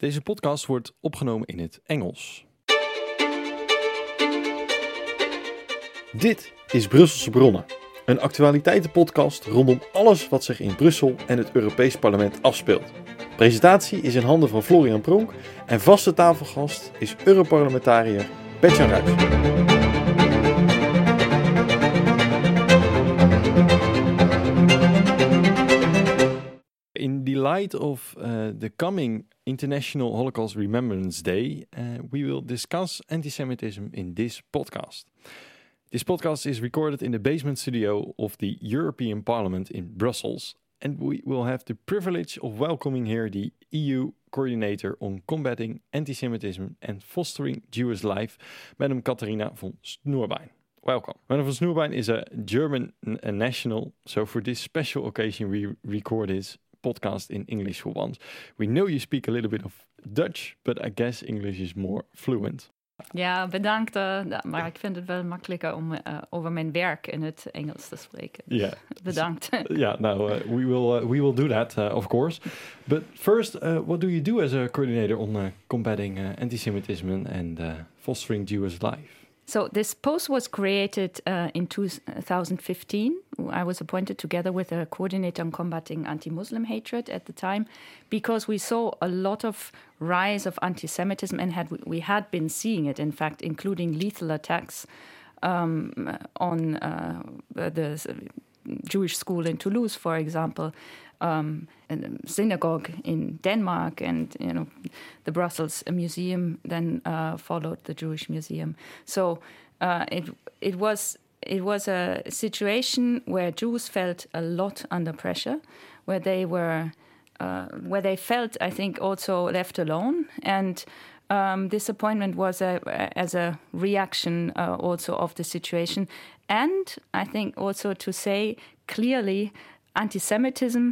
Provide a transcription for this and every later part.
Deze podcast wordt opgenomen in het Engels. Dit is Brusselse Bronnen, een actualiteitenpodcast rondom alles wat zich in Brussel en het Europees Parlement afspeelt. Presentatie is in handen van Florian Pronk en vaste tafelgast is Europarlementariër Bert-Jan Ruijs. In the light of the coming International Holocaust Remembrance Day, we will discuss antisemitism in this podcast. This podcast is recorded in the basement studio of the European Parliament in Brussels, and we will have the privilege of welcoming here the EU Coordinator on Combating Antisemitism and Fostering Jewish Life, Madam Katharina von Snoerbein. Welcome. Madam von Snoerbein is a German national, so for this special occasion we record this podcast in English for once. We know you speak a little bit of Dutch, but I guess English is more fluent. Ja, bedankt. Maar ik vind het wel makkelijker om over mijn werk in het Engels te spreken. Yeah. Bedankt. Yeah, no, we will do that, of course. But first, what do you do as a coordinator on combating antisemitism and fostering Jewish life? So this post was created in 2015. I was appointed together with a coordinator on combating anti-Muslim hatred at the time, because we saw a lot of rise of anti-Semitism, and we had been seeing it, in fact, including lethal attacks on the Jewish school in Toulouse, for example, and a synagogue in Denmark, and the Brussels Museum then followed the Jewish Museum. So it was a situation where Jews felt a lot under pressure, where they felt, I think, also left alone, and this appointment was as a reaction also of the situation, and I think also to say clearly, anti-Semitism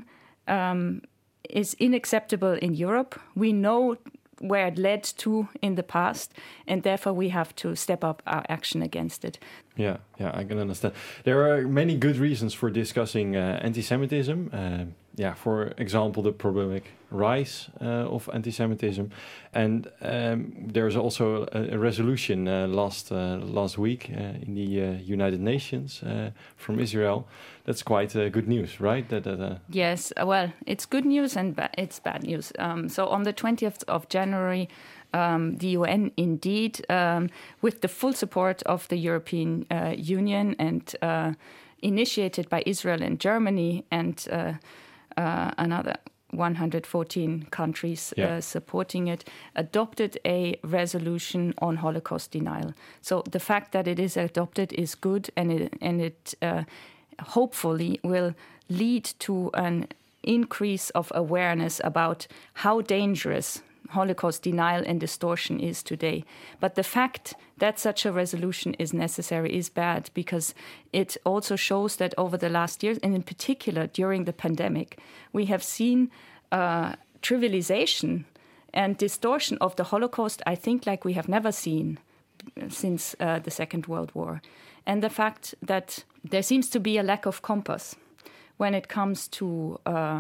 is unacceptable in Europe. We know where it led to in the past, and therefore we have to step up our action against it. Yeah, I can understand. There are many good reasons for discussing anti-Semitism. For example, the problematic rise of anti-Semitism, and there's also a resolution last week in the United Nations from Israel. That's quite good news, right? Yes, well, it's good news and it's bad news. So on the 20th of January, the UN indeed, with the full support of the European Union and initiated by Israel and Germany and another 114 countries supporting it, adopted a resolution on Holocaust denial. So the fact that it is adopted is good, and it hopefully will lead to an increase of awareness about how dangerous Holocaust denial and distortion is today. But the fact that such a resolution is necessary is bad, because it also shows that over the last years, and in particular during the pandemic, we have seen trivialization and distortion of the Holocaust, I think, like we have never seen since the Second World War. And the fact that there seems to be a lack of compass when it comes to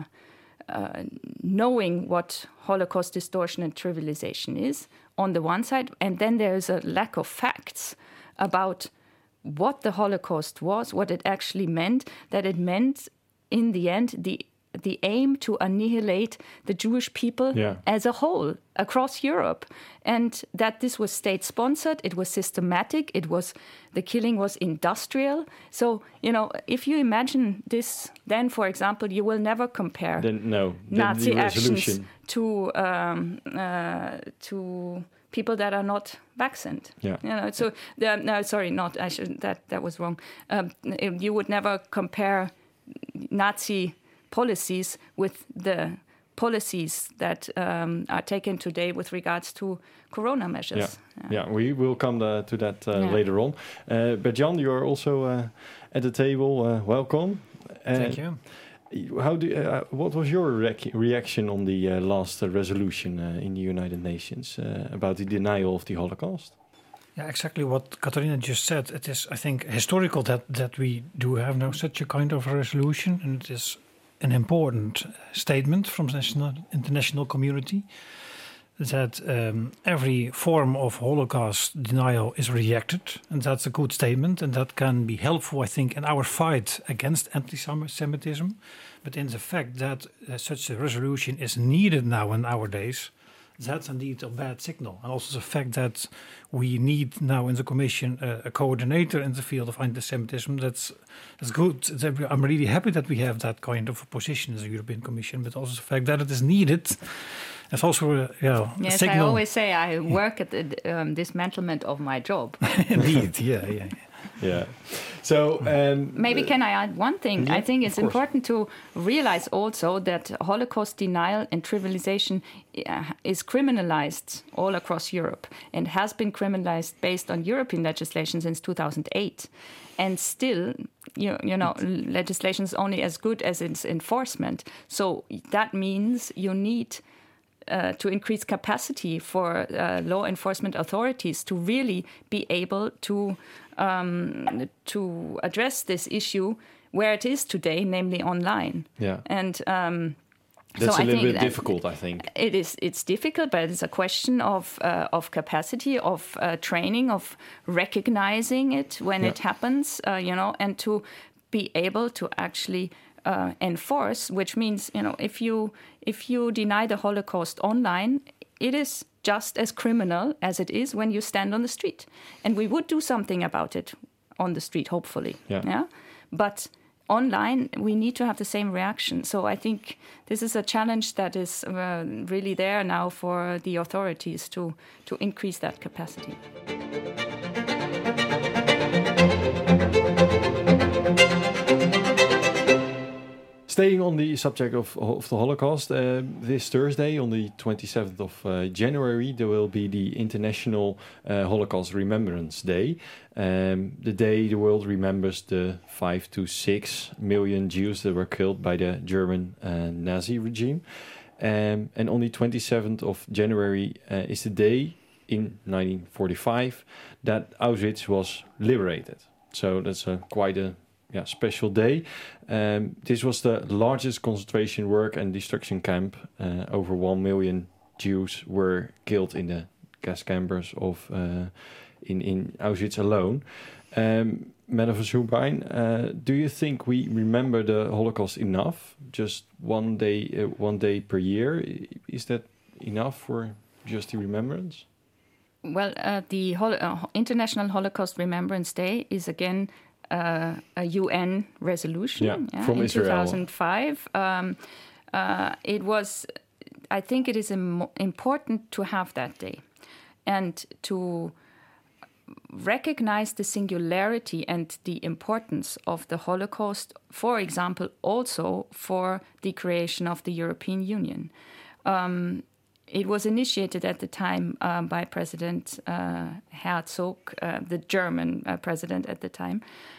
knowing what Holocaust distortion and trivialization is on the one side, and then there is a lack of facts about what the Holocaust was, what it actually meant, that it meant in the end the aim to annihilate the Jewish people as a whole across Europe, and that this was state-sponsored, it was systematic, the killing was industrial. So, if you imagine this, then, for example, you will never compare Nazi actions to people that are not vaccinated. Yeah. That was wrong. You would never compare Nazi policies with the policies that are taken today with regards to corona measures. Yeah, we will come to that later on. Bert-Jan, you are also at the table. Welcome. Thank you. What was your reaction on the last resolution in the United Nations about the denial of the Holocaust? Yeah, exactly what Katharina just said. It is, I think, historical that we do have now such a kind of resolution, and it is an important statement from the international community. that every form of Holocaust denial is rejected, and that's a good statement, and that can be helpful, I think, in our fight against anti-Semitism. But in the fact that such a resolution is needed now in nowadays, that's indeed a bad signal. And also the fact that we need now in the Commission a coordinator in the field of anti-Semitism, that's good. I'm really happy that we have that kind of a position in the European Commission, but also the fact that it is needed. It's also a yes, signal. I always say I work at the dismantlement of my job. Indeed, yeah. Yeah. So maybe can I add one thing? Yeah, I think it's important to realize also that Holocaust denial and trivialization is criminalized all across Europe and has been criminalized based on European legislation since 2008. And still, you know, legislation is only as good as its enforcement. So that means you need to increase capacity for law enforcement authorities to really be able to address this issue where it is today, namely online. Yeah. And that's so a little bit difficult, I think. It's difficult, but it's a question of capacity, of training, of recognizing it when it happens, and to be able to actually enforce, which means, if you deny the Holocaust online, it is just as criminal as it is when you stand on the street. And we would do something about it on the street, hopefully. Yeah? But online, we need to have the same reaction. So I think this is a challenge that is really there now for the authorities to increase that capacity. Staying on the subject of the Holocaust, this Thursday, on the 27th of January, there will be the International Holocaust Remembrance Day. The day the world remembers the 5 to 6 million Jews that were killed by the German Nazi regime. And on the 27th of January is the day in 1945 that Auschwitz was liberated. So that's quite a special day. This was the largest concentration work and destruction camp. Over 1 million Jews were killed in the gas chambers of in Auschwitz alone. Madam van Soenpijn, do you think we remember the Holocaust enough? Just one day per year, is that enough for just the remembrance? Well, the International Holocaust Remembrance Day is again a UN resolution from in Israel. 2005. I think it is important to have that day and to recognize the singularity and the importance of the Holocaust, for example, also for the creation of the European Union. It was initiated at the time by President Herzog, the German president at the time,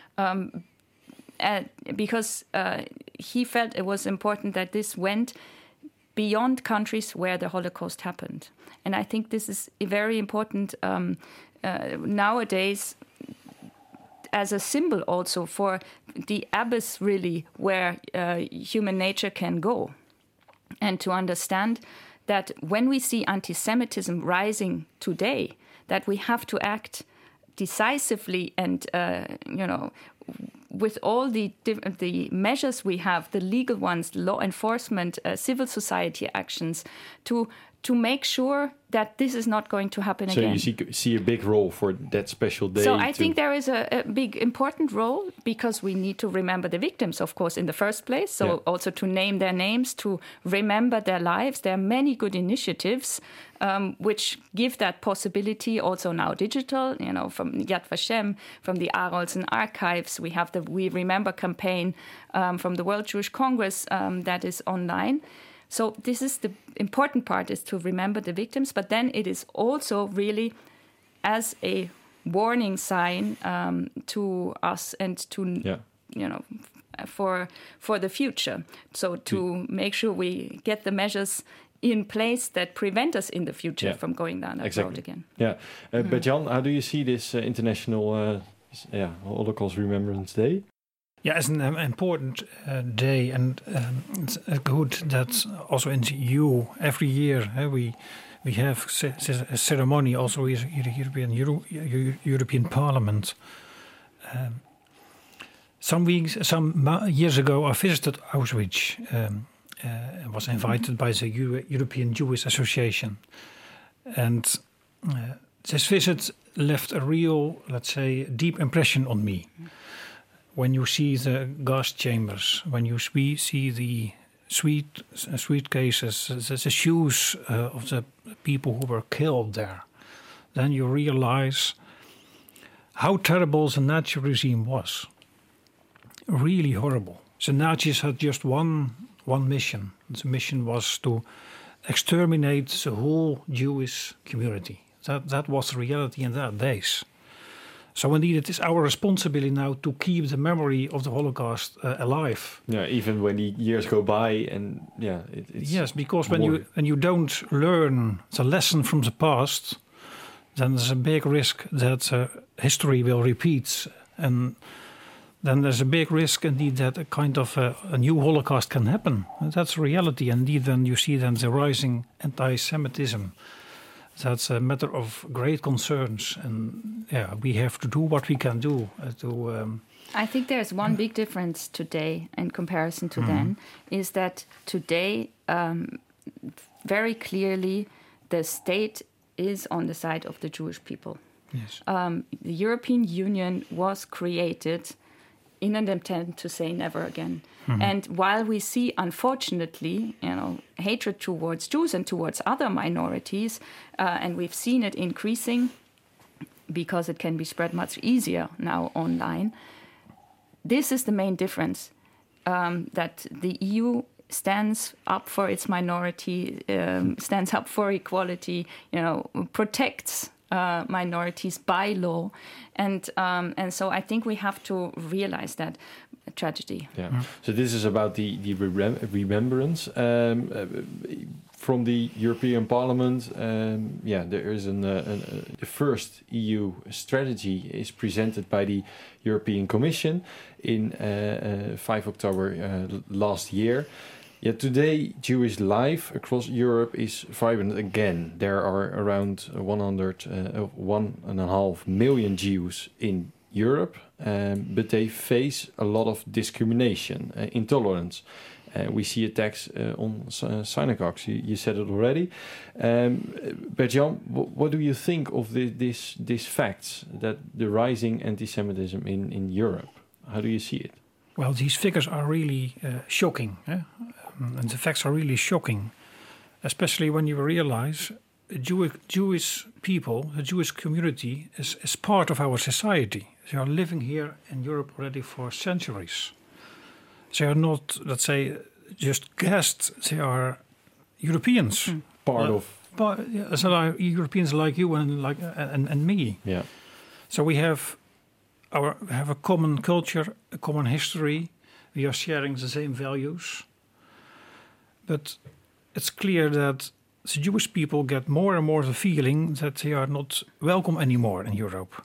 because he felt it was important that this went beyond countries where the Holocaust happened. And I think this is very important nowadays as a symbol also for the abyss, really, where human nature can go. And to understand that when we see anti-Semitism rising today, that we have to act decisively and, with all the measures we have, the legal ones, law enforcement, civil society actions, to make sure that this is not going to happen again. So you see a big role for that special day. So I think there is a big, important role, because we need to remember the victims, of course, in the first place. So also to name their names, to remember their lives. There are many good initiatives which give that possibility, also now digital, from Yad Vashem, from the Arolsen archives. We have the We Remember campaign from the World Jewish Congress that is online. So this is the important part, is to remember the victims, but then it is also really as a warning sign to us and to, for the future. So to make sure we get the measures in place that prevent us in the future from going down that road again. Yeah. Bert-Jan, how do you see this International Holocaust Remembrance Day? Yeah, it's an important day, and it's good that also in the EU every year we We have a ceremony also in the European Parliament. Some years ago, I visited Auschwitz and was invited by the European Jewish Association. And this visit left a real, let's say, deep impression on me. When you see the gas chambers, when you see the suitcases, the shoes of the people who were killed there, then you realize how terrible the Nazi regime was. Really horrible. The Nazis had just one mission. The mission was to exterminate the whole Jewish community. That was the reality in that days. So indeed, it is our responsibility now to keep the memory of the Holocaust alive. Yeah, even when the years go by, and it's yes, because when you don't learn the lesson from the past, then there's a big risk that history will repeat, and then there's a big risk indeed that a kind of a new Holocaust can happen. And that's reality. Indeed, then you see then the rising anti-Semitism. That's a matter of great concerns, and we have to do what we can do I think there's one big difference today in comparison to then, is that today, very clearly, the state is on the side of the Jewish people. Yes. The European Union was created in an attempt to say never again. And while we see, unfortunately, hatred towards Jews and towards other minorities, and we've seen it increasing because it can be spread much easier now online, this is the main difference, that the EU stands up for its minority, stands up for equality, protects minorities by law, and so I think we have to realize that tragedy. Yeah. So this is about the remembrance from the European Parliament. There is the first EU strategy is presented by the European Commission in 5 October last year. Yet today, Jewish life across Europe is vibrant again. There are around 1.5 million Jews in Europe, but they face a lot of discrimination, intolerance. We see attacks on synagogues. You said it already. Bert-Jan, what do you think of these facts, that the rising anti-Semitism in Europe? How do you see it? Well, these figures are really shocking. And the facts are really shocking, especially when you realize Jewish people, the Jewish community, is part of our society. They are living here in Europe already for centuries. They are not, let's say, just guests. They are Europeans. So are Europeans like you and me. Yeah. So we have a common culture, a common history. We are sharing the same values. But it's clear that the Jewish people get more and more the feeling that they are not welcome anymore in Europe.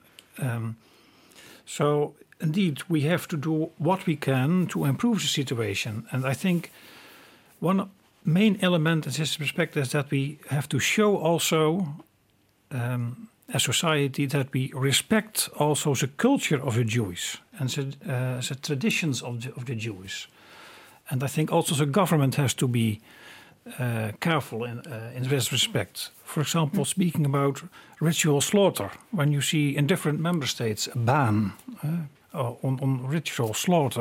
So indeed, we have to do what we can to improve the situation. And I think one main element in this respect is that we have to show also as society that we respect also the culture of the Jews and the traditions of the Jews. And I think also the government has to be careful in this respect. For example, speaking about ritual slaughter, when you see in different member states a ban on ritual slaughter,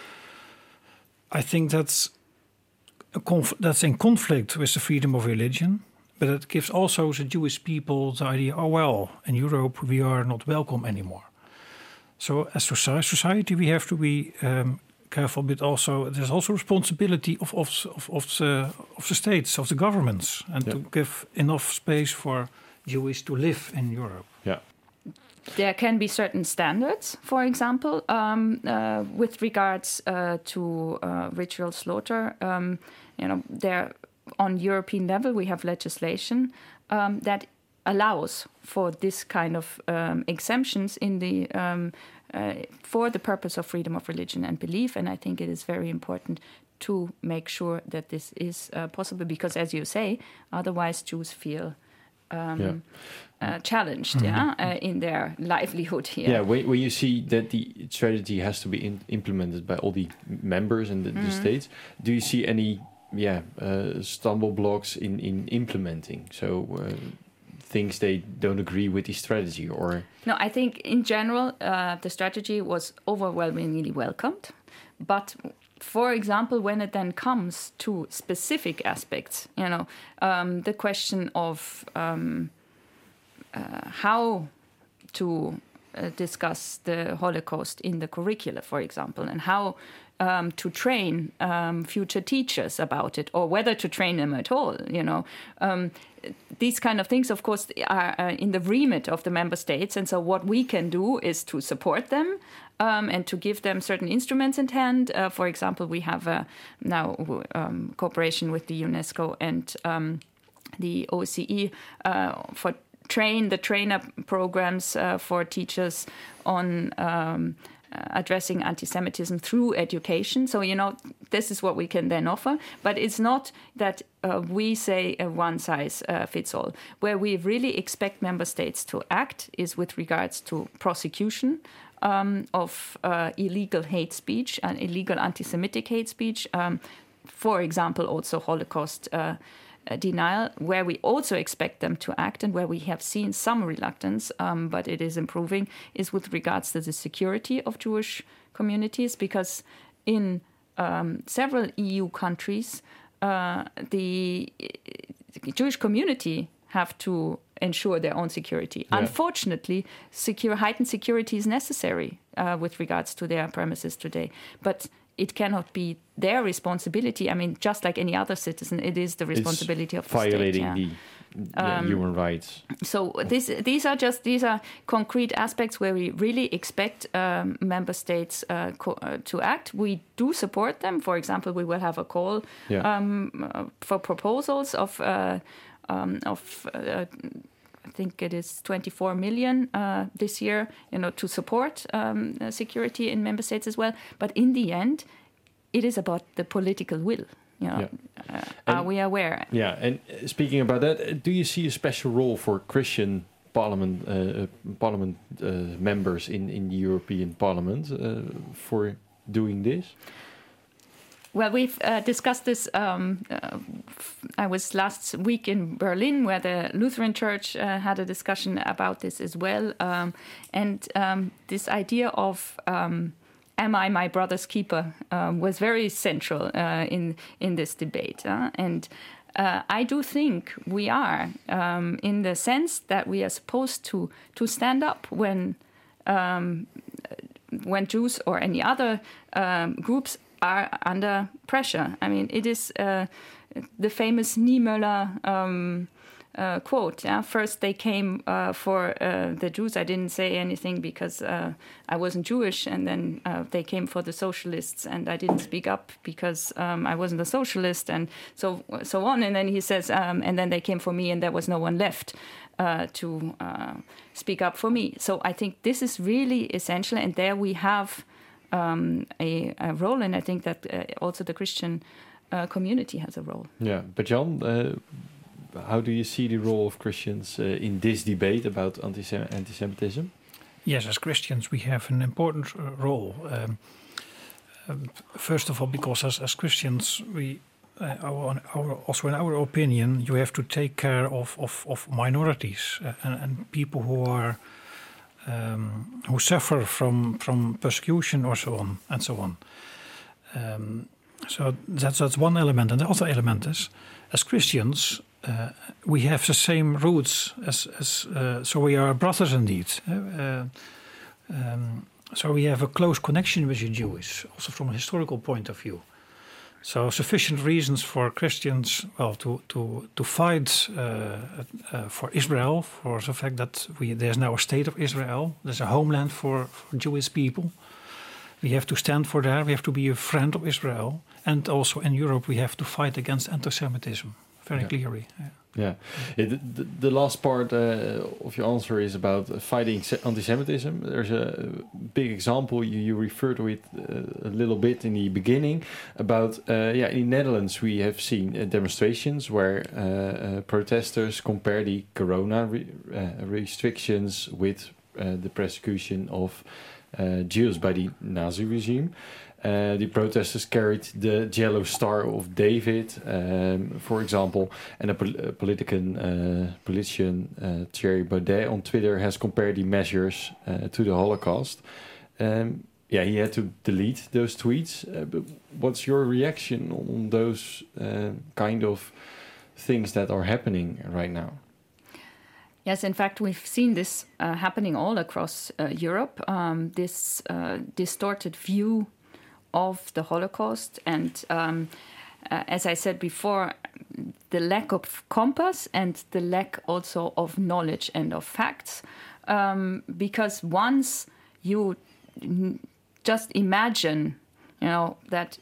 I think that's in conflict with the freedom of religion, but it gives also the Jewish people the idea, in Europe we are not welcome anymore. So as society we have to be careful, but also there's also responsibility of the states, of the governments, and to give enough space for Jews to live in Europe. Yeah. There can be certain standards, for example, with regards to ritual slaughter. There on European level we have legislation that allows for this kind of exemptions in the for the purpose of freedom of religion and belief, and I think it is very important to make sure that this is possible, because, as you say, otherwise Jews feel challenged in their livelihood here. Yeah, when you see that the strategy has to be implemented by all the members and the states, do you see any stumble blocks in implementing? So things they don't agree with the strategy, or? No, I think in general the strategy was overwhelmingly welcomed. But for example, when it then comes to specific aspects, the question of how to discuss the Holocaust in the curricula, for example, and how to train future teachers about it, or whether to train them at all, these kind of things, of course, are in the remit of the member states. And so what we can do is to support them and to give them certain instruments in hand. For example, we have now cooperation with the UNESCO and the OSCE for trainer programs for teachers on addressing anti-Semitism through education. So, this is what we can then offer. But it's not that we say one size fits all. Where we really expect member states to act is with regards to prosecution of illegal hate speech and illegal anti-Semitic hate speech. For example, also Holocaust denial, where we also expect them to act and where we have seen some reluctance, but it is improving, is with regards to the security of Jewish communities, because in several EU countries, the Jewish community have to ensure their own security. Yeah. Unfortunately, heightened security is necessary with regards to their premises today, but it cannot be their responsibility. I mean, just like any other citizen, it is the responsibility of the state. Violating the human rights. So these are concrete aspects where we really expect member states to act. We do support them. For example, we will have a call for proposals of I think it is 24 million this year, to support security in member states as well. But in the end, it is about the political will. Are we aware? Yeah, and speaking about that, do you see a special role for Christian parliament members in the European Parliament for doing this? Well, we've discussed this. I was last week in Berlin, where the Lutheran Church had a discussion about this as well. And this idea of am I my brother's keeper was very central in this debate. And I do think we are, in the sense that we are supposed to stand up when Jews or any other groups are under pressure. I mean, it is the famous Niemöller quote. First they came for the Jews. I didn't say anything because I wasn't Jewish, and then they came for the socialists, and I didn't speak up because I wasn't a socialist, and so on. And then he says, and then they came for me, and there was no one left to speak up for me. So I think this is really essential, and there we have a role, and I think that also the Christian community has a role. Yeah, but Jan, how do you see the role of Christians in this debate about anti-Semitism? Yes, as Christians we have an important role. First of all, because as Christians we, also in our opinion, you have to take care of minorities and people who are who suffer from persecution or so on and so on. So that's one element, and the other element is, as Christians, we have the same roots as so we are brothers indeed. So we have a close connection with the Jews, also from a historical point of view. So sufficient reasons for Christians, well, to fight for Israel, for the fact that there's now a state of Israel, there's a homeland for Jewish people. We have to stand for that. We have to be a friend of Israel, and also in Europe we have to fight against anti-Semitism. very clearly. Yeah. The last part of your answer is about fighting anti-Semitism. There's a big example you referred to it a little bit in the beginning about in the Netherlands we have seen demonstrations where protesters compare the corona restrictions with the persecution of Jews by the Nazi regime. The protesters carried the yellow star of David, for example, and a politician, Thierry Baudet, on Twitter has compared the measures to the Holocaust. He had to delete those tweets. But what's your reaction on those kind of things that are happening right now? Yes, in fact, we've seen this happening all across Europe, this distorted view of the Holocaust. And as I said before, the lack of compass and the lack also of knowledge and of facts. Because once you just imagine, that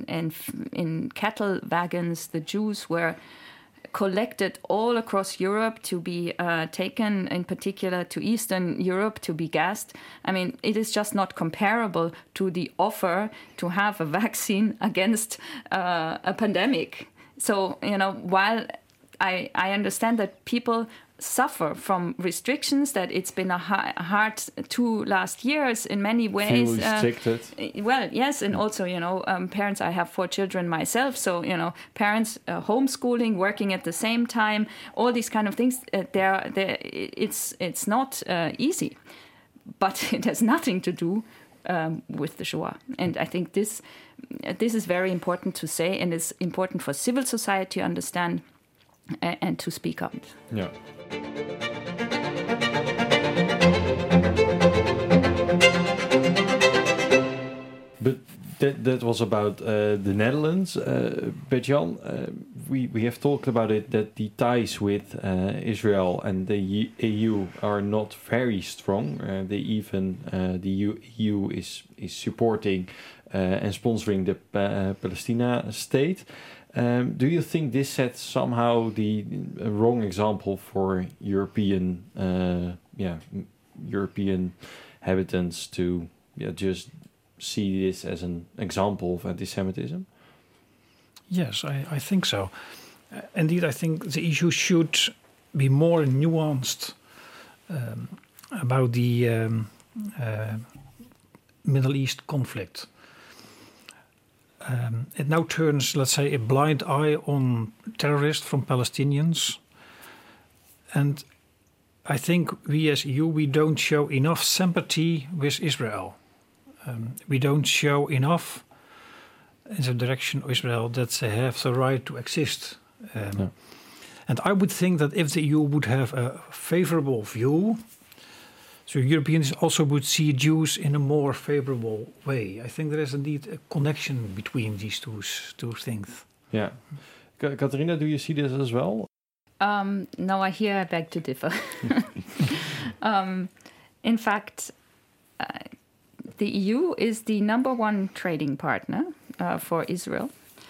in cattle wagons, the Jews were collected all across Europe to be taken, in particular to Eastern Europe, to be gassed. I mean, it is just not comparable to the offer to have a vaccine against a pandemic. So, while I understand that people suffer from restrictions, that it's been a hard 2 last years in many ways. Feel restricted. Well, yes, and also, parents, I have 4 children myself, so, parents homeschooling, working at the same time, all these kind of things, it's not easy, but it has nothing to do with the Shoah. And I think this is very important to say, and it's important for civil society to understand and to speak up. Yeah. But that was about the Netherlands. Bert-Jan, we have talked about it, that the ties with Israel and the EU are not very strong. The EU is supporting and sponsoring the Palestina state. Do you think this sets somehow the wrong example for European inhabitants to just see this as an example of anti-Semitism? Yes, I think so. Indeed, I think the issue should be more nuanced about the Middle East conflict. It now turns, let's say, a blind eye on terrorists from Palestinians. And I think we as EU, we don't show enough sympathy with Israel. We don't show enough in the direction of Israel that they have the right to exist. And I would think that if the EU would have a favorable view, so Europeans also would see Jews in a more favorable way. I think there is indeed a connection between these two things. Yeah. Catharina, do you see this as well? No, I beg to differ. In fact, the EU is the number 1 trading partner for Israel.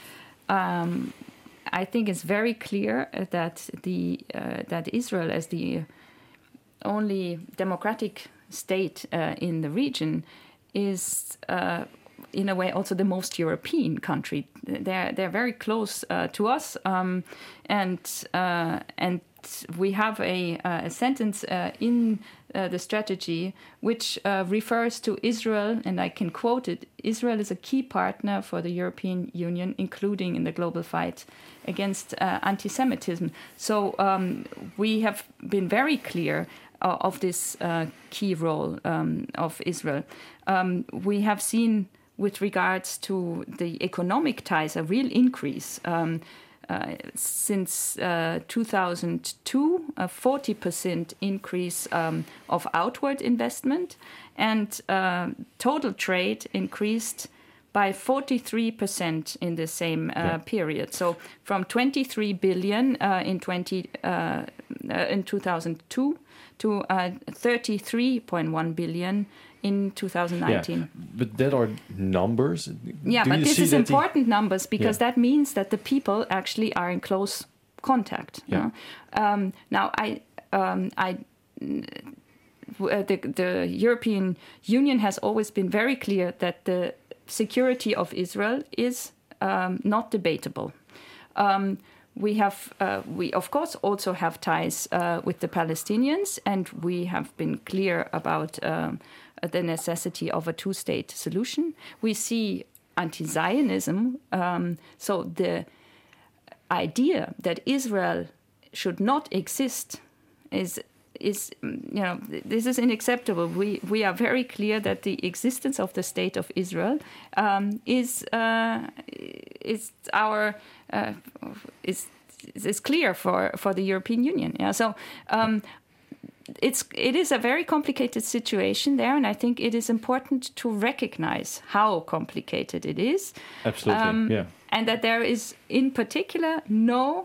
I think it's very clear that that Israel, as the only democratic state in the region, is in a way also the most European country. They're very close to us, and we have a sentence in the strategy which refers to Israel, and I can quote it: Israel is a key partner for the European Union, including in the global fight against anti-Semitism. So we have been very clear of this key role of Israel. We have seen, with regards to the economic ties, a real increase since 2002, a 40% increase of outward investment, and total trade increased by 43% in the same period. So from 23 billion in 2002 to 33.1 billion in 2019. Yeah, but that are numbers. Yeah, but this is important numbers, because that means that the people actually are in close contact. Yeah. Now, the European Union has always been very clear that the security of Israel is not debatable. We of course also have ties with the Palestinians, and we have been clear about the necessity of a two-state solution. We see anti-Zionism, so the idea that Israel should not exist is this is unacceptable. We are very clear that the existence of the state of Israel is clear for the European Union. Yeah, so. It is a very complicated situation there, and I think it is important to recognize how complicated it is. Absolutely, yeah. And that there is, in particular, no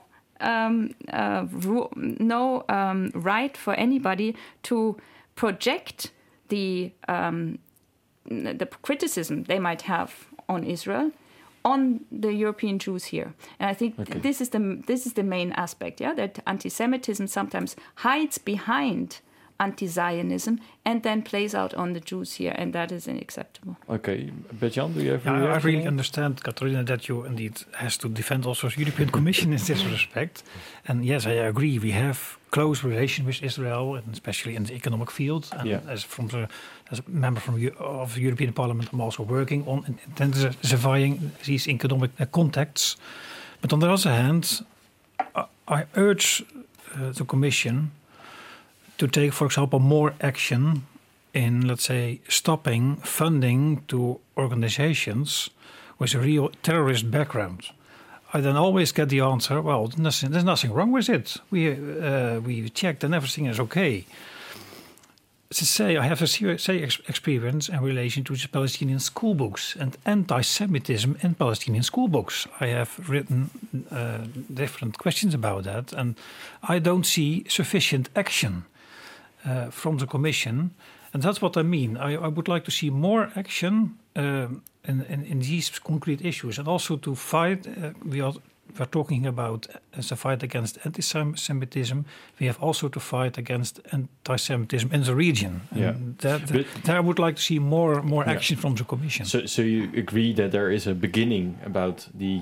right for anybody to project the criticism they might have on Israel on the European Jews here. And I think this is the main aspect, yeah, that anti-Semitism sometimes hides behind anti-Zionism and then plays out on the Jews here, and that is unacceptable. Okay, Bert-Jan, do you have? I really understand, Catharina, that you indeed has to defend also the European Commission in this respect. And yes, I agree. We have close relation with Israel, and especially in the economic field. And as a member of the European Parliament, I'm also working on intensifying these economic contacts. But on the other hand, I urge the Commission to take, for example, more action in, let's say, stopping funding to organizations with a real terrorist background. I then always get the answer, well, there's nothing wrong with it. We checked and everything is okay. To say, I have a experience in relation to the Palestinian school books and anti-Semitism in Palestinian school books. I have written different questions about that, and I don't see sufficient action from the Commission. And that's what I mean. I would like to see more action in these concrete issues, and also to fight. We're talking about as a fight against anti-Semitism. We have also to fight against anti-Semitism in the region. And there I would like to see more action from the Commission. So you agree that there is a beginning about the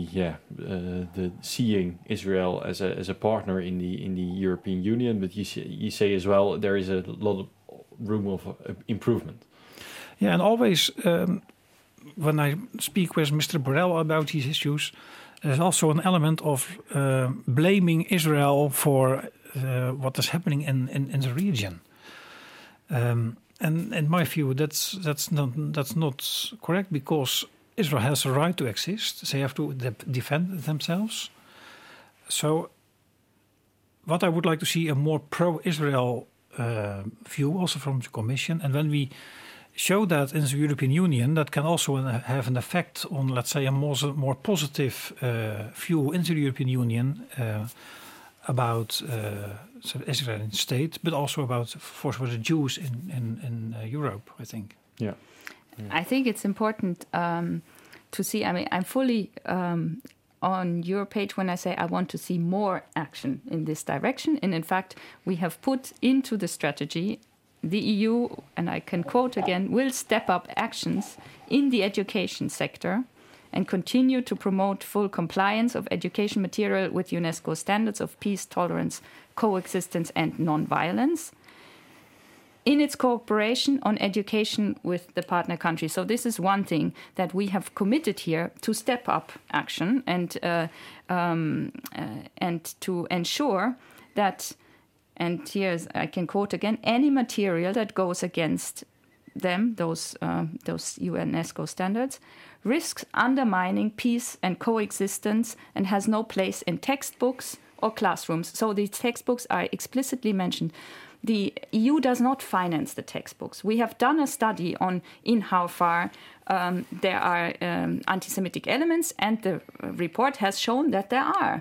seeing Israel as a partner in the European Union, but you say as well there is a lot of room of improvement. Yeah, and always when I speak with Mr. Borrell about these issues, there's also an element of blaming Israel for what is happening in the region. And in my view, that's not correct, because Israel has a right to exist. They have to defend themselves. So what I would like to see a more pro-Israel view also from the Commission. And when we show that in the European Union, that can also have an effect on, let's say, a more positive view in the European Union about the Israeli state, but also about for the Jews in Europe, I think. Yeah. I think it's important to see. I mean, I'm fully on your page when I say I want to see more action in this direction. And in fact, we have put into the strategy, the EU, and I can quote again, will step up actions in the education sector and continue to promote full compliance of education material with UNESCO standards of peace, tolerance, coexistence, and non-violence in its cooperation on education with the partner countries. So this is one thing that we have committed here, to step up action and to ensure that, and here I can quote again, any material that goes against them, those UNESCO standards, risks undermining peace and coexistence and has no place in textbooks or classrooms. So the textbooks are explicitly mentioned. The EU does not finance the textbooks. We have done a study on in how far there are anti-Semitic elements, and the report has shown that there are.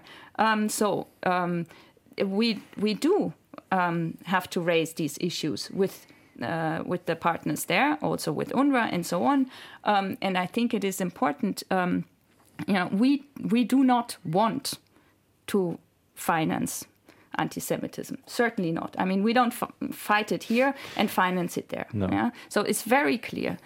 We do have to raise these issues with the partners there, also with UNRWA and so on. And I think it is important. We do not want to finance anti-Semitism. Certainly not. I mean, we don't fight it here and finance it there. No. Yeah? So it's very clear.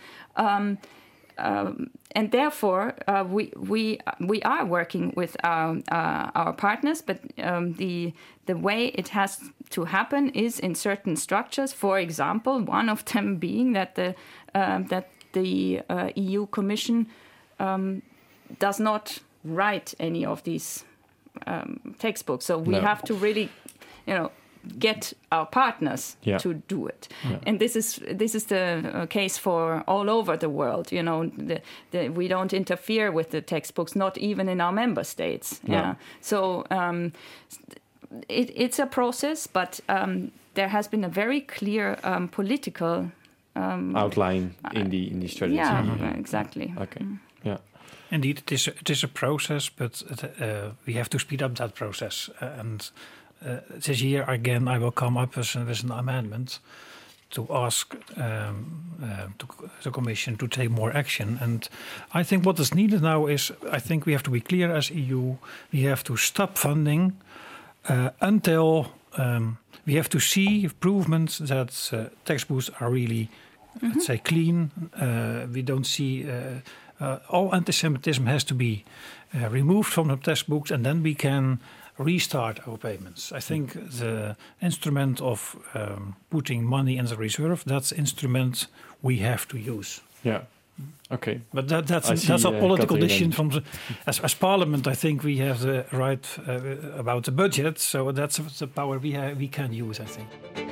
And therefore, we are working with our partners, but the way it has to happen is in certain structures. For example, one of them being that the EU Commission does not write any of these textbooks. So we have to really, get our partners to do it. Yeah. And this is the case for all over the world. We don't interfere with the textbooks, not even in our member states. No. Yeah. So it's a process, but there has been a very clear political outline in the strategy. Yeah, exactly. Okay. Yeah. Indeed, it is a process, but we have to speed up that process. And this year, again, I will come up with an amendment to ask the Commission to take more action. And I think what is needed now is, I think we have to be clear as EU, we have to stop funding until we have to see improvements that textbooks are really, let's say, clean. We don't see... all anti-Semitism has to be removed from the textbooks, and then we can restart our payments. I think the instrument of putting money in the reserve, that's the instrument we have to use. Yeah. Okay. But that's a political decision from as Parliament. I think we have the right about the budget, so that's the power we can use, I think.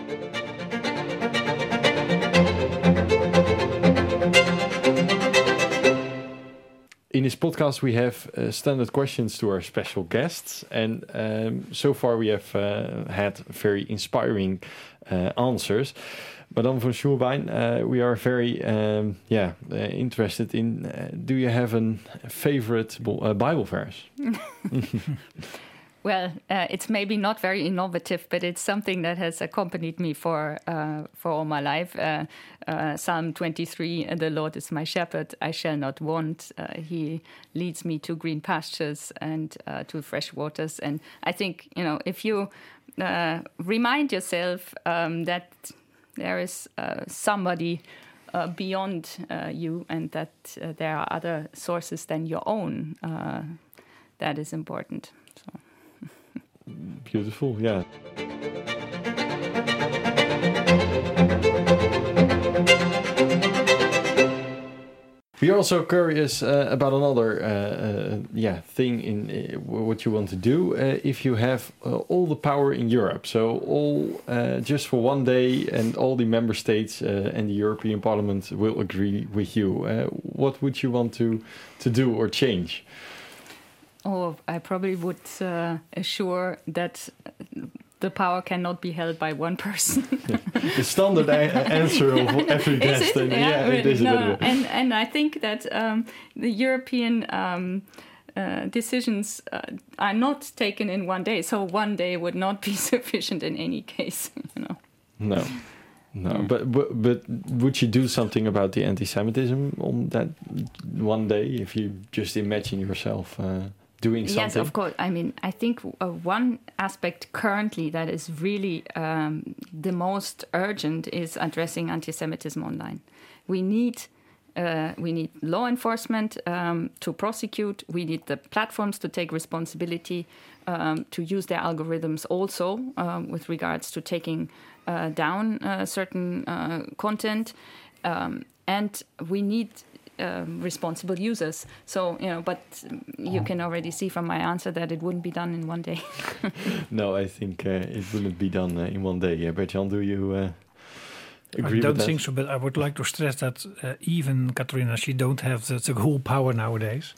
In this podcast, we have standard questions to our special guests. And so far we have had very inspiring answers. Madame von Schulbein, we are very interested in, do you have a favorite Bible verse? Well, it's maybe not very innovative, but it's something that has accompanied me for all my life. Psalm 23, the Lord is my shepherd, I shall not want. He leads me to green pastures and to fresh waters. And I think, if you remind yourself that there is somebody beyond you and that there are other sources than your own, that is important. So. Beautiful, yeah. We are also curious about another thing in what you want to do. If you have all the power in Europe, so all just for one day, and all the member states and the European Parliament will agree with you, what would you want to do or change? Oh, I probably would assure that the power cannot be held by one person. The standard answer of every guest. It is. No, and I think that the European decisions are not taken in one day. So one day would not be sufficient in any case. No. But would you do something about the anti-Semitism on that one day if you just imagine yourself doing something? Yes, of course. I mean, I think one aspect currently that is really the most urgent is addressing anti-Semitism online. We need law enforcement to prosecute. We need the platforms to take responsibility to use their algorithms also with regards to taking down certain content. And we need responsible users. So, but you can already see from my answer that it wouldn't be done in one day. No, I think it wouldn't be done in one day. Bert-Jan, do you agree with that? I don't think so, but I would like to stress that even Katrina, she don't have the whole power nowadays.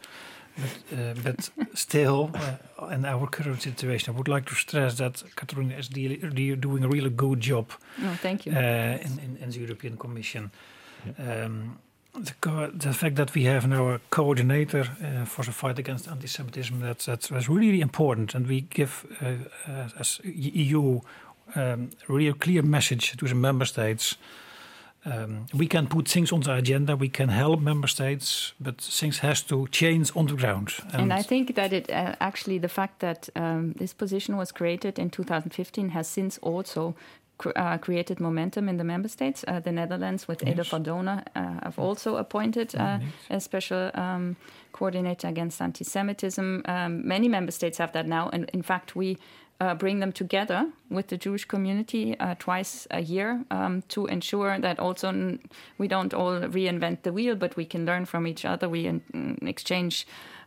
But still, in our current situation, I would like to stress that Katrina is doing a really good job. Oh, thank you. In the European Commission. Yeah. The fact that we have now a coordinator for the fight against anti-Semitism, that's really important. And we give, as EU, a real clear message to the member states We can put things on the agenda, we can help member states, but things has to change on the ground. And I think that it actually the fact that this position was created in 2015 has since also created momentum in the member states. The Netherlands with Ede van Donen have also appointed a special coordinator against anti-Semitism. Many member states have that now, and in fact we bring them together with the Jewish community twice a year to ensure that also we don't all reinvent the wheel, but we can learn from each other. We exchange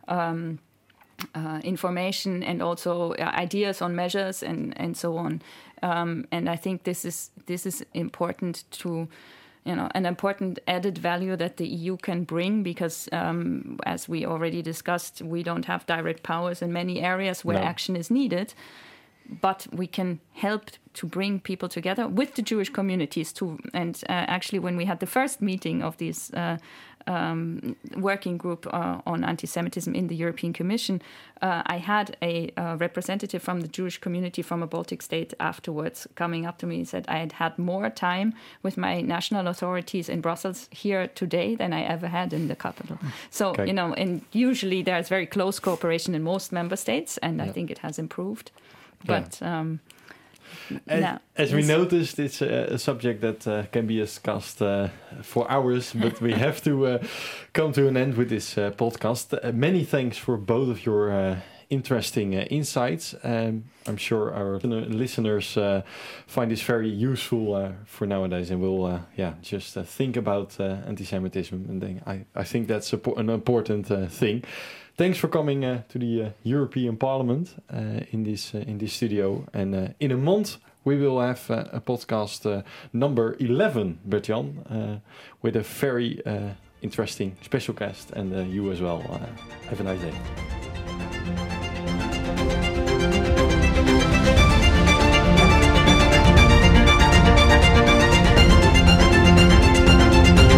information and also ideas on measures and so on. And I think this is important to, an important added value that the EU can bring because, as we already discussed, we don't have direct powers in many areas where action is needed. But we can help to bring people together with the Jewish communities too. And actually, when we had the first meeting of this working group on anti-Semitism in the European Commission, I had a representative from the Jewish community from a Baltic state afterwards coming up to me and said I had more time with my national authorities in Brussels here today than I ever had in the capital. So, and usually there's very close cooperation in most member states, and I think it has improved. But as we noticed, it's a subject that can be discussed for hours, but we have to come to an end with this podcast. Many thanks for both of your interesting insights. I'm sure our listeners find this very useful for nowadays and will just think about anti-Semitism. And then I think that's an important thing. Thanks for coming to the European Parliament in this studio. And in a month, we will have a podcast number 11, Bert-Jan, with a very interesting special guest and you as well. Have a nice day.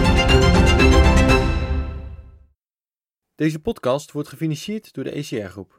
Deze podcast wordt gefinancierd door de ECR Groep.